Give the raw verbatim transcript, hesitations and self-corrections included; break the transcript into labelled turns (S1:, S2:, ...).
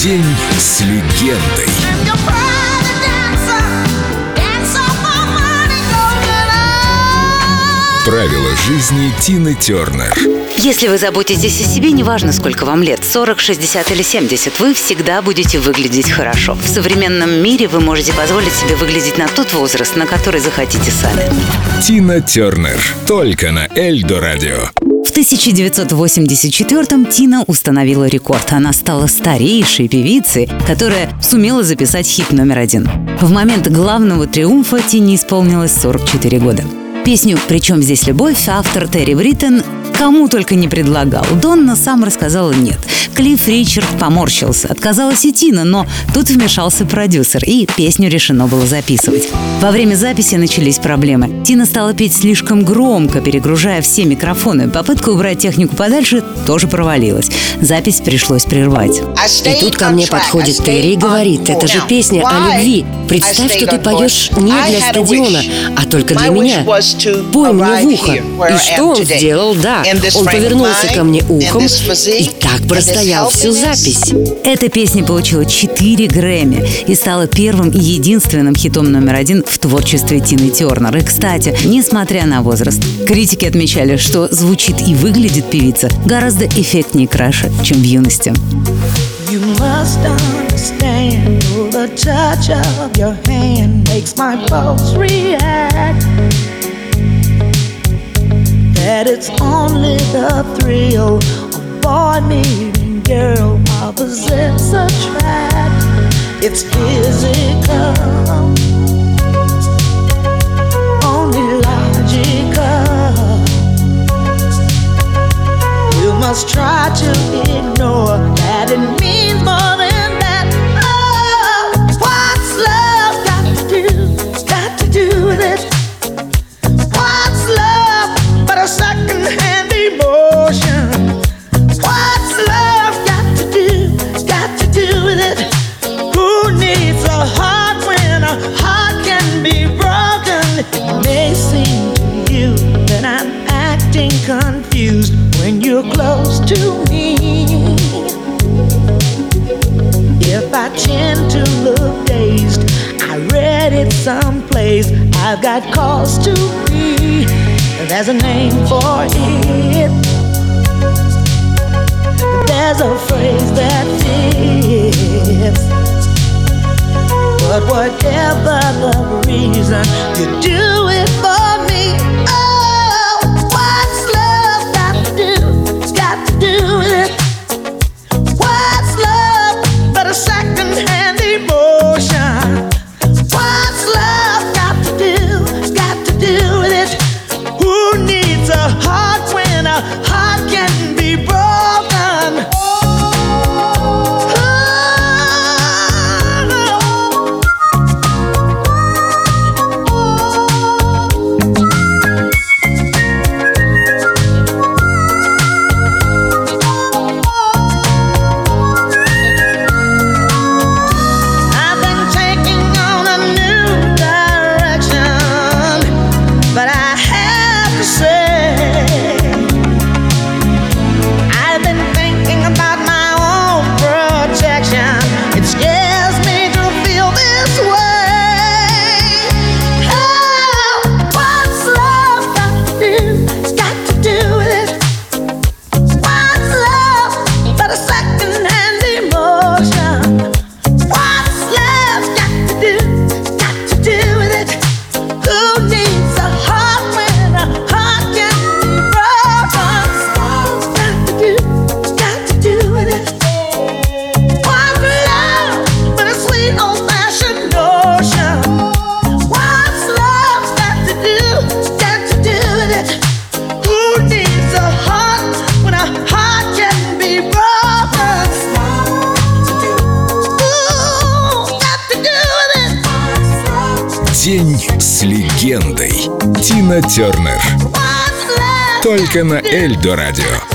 S1: День с легендой. Правила жизни Тины Тернер.
S2: Если вы заботитесь о себе, неважно, сколько вам лет, сорок, шестьдесят или семьдесят, вы всегда будете выглядеть хорошо. В современном мире вы можете позволить себе выглядеть на тот возраст, на который захотите сами.
S1: Тина Тернер. Только на Эльдо Радио.
S2: В тысяча девятьсот восемьдесят четвёртом Тина установила рекорд. Она стала старейшей певицей, которая сумела записать хит номер один. В момент главного триумфа Тине исполнилось сорок четыре года. Песню «Причем здесь любовь» автор Терри Бриттон кому только не предлагал. Донна сам рассказала нет. Клифф Ричард поморщился. Отказалась и Тина, но тут вмешался продюсер, и песню решено было записывать. Во время записи начались проблемы. Тина стала петь слишком громко, перегружая все микрофоны. Попытка убрать технику подальше тоже провалилась. Запись пришлось прервать.
S3: И тут ко мне подходит Терри и говорит: это же песня о любви. Представь, что ты поешь не для стадиона, а только для меня. Пой мне в ухо. И что он сделал? Да, он повернулся ко мне ухом и так простоял всю запись.
S2: Эта песня получила четыре Грэмми и стала первым и единственным хитом номер один в творчестве Тины Тернер. И, кстати, несмотря на возраст, критики отмечали, что звучит и выглядит певица гораздо эффектнее и краше, чем в юности.
S4: You must understand, the touch of your hand makes my pulse react. That it's only the thrill of boy meeting girl, opposites attract. It's physical, only logical. You must try to ignore that it means more than that. Oh, what's love got to do, got to do with it? What's love but a second-hand emotion? What's love got to do, got to do with it? Who needs a heart when a heart can be broken? It may seem to you that I'm acting confused when you're close to me. If I tend to look dazed, I read it someplace, I've got cause to be. There's a name for it. There's a phrase that fits. But whatever the reason, you do it for me. Oh, what's love got to do, got to do with it? What's love but a second-hand emotion? What's love got to do, got to do with it? Who needs a heart when a heart can be broken?
S1: День с легендой. Тина Тернер. Только на Эльдо Радио.